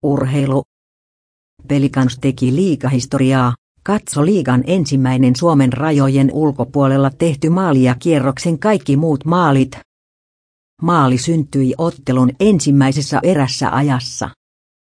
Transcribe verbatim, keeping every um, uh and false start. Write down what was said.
Urheilu. Pelicans teki liigahistoriaa, katso liigan ensimmäinen Suomen rajojen ulkopuolella tehty maali ja kierroksen kaikki muut maalit. Maali syntyi ottelun ensimmäisessä erässä ajassa.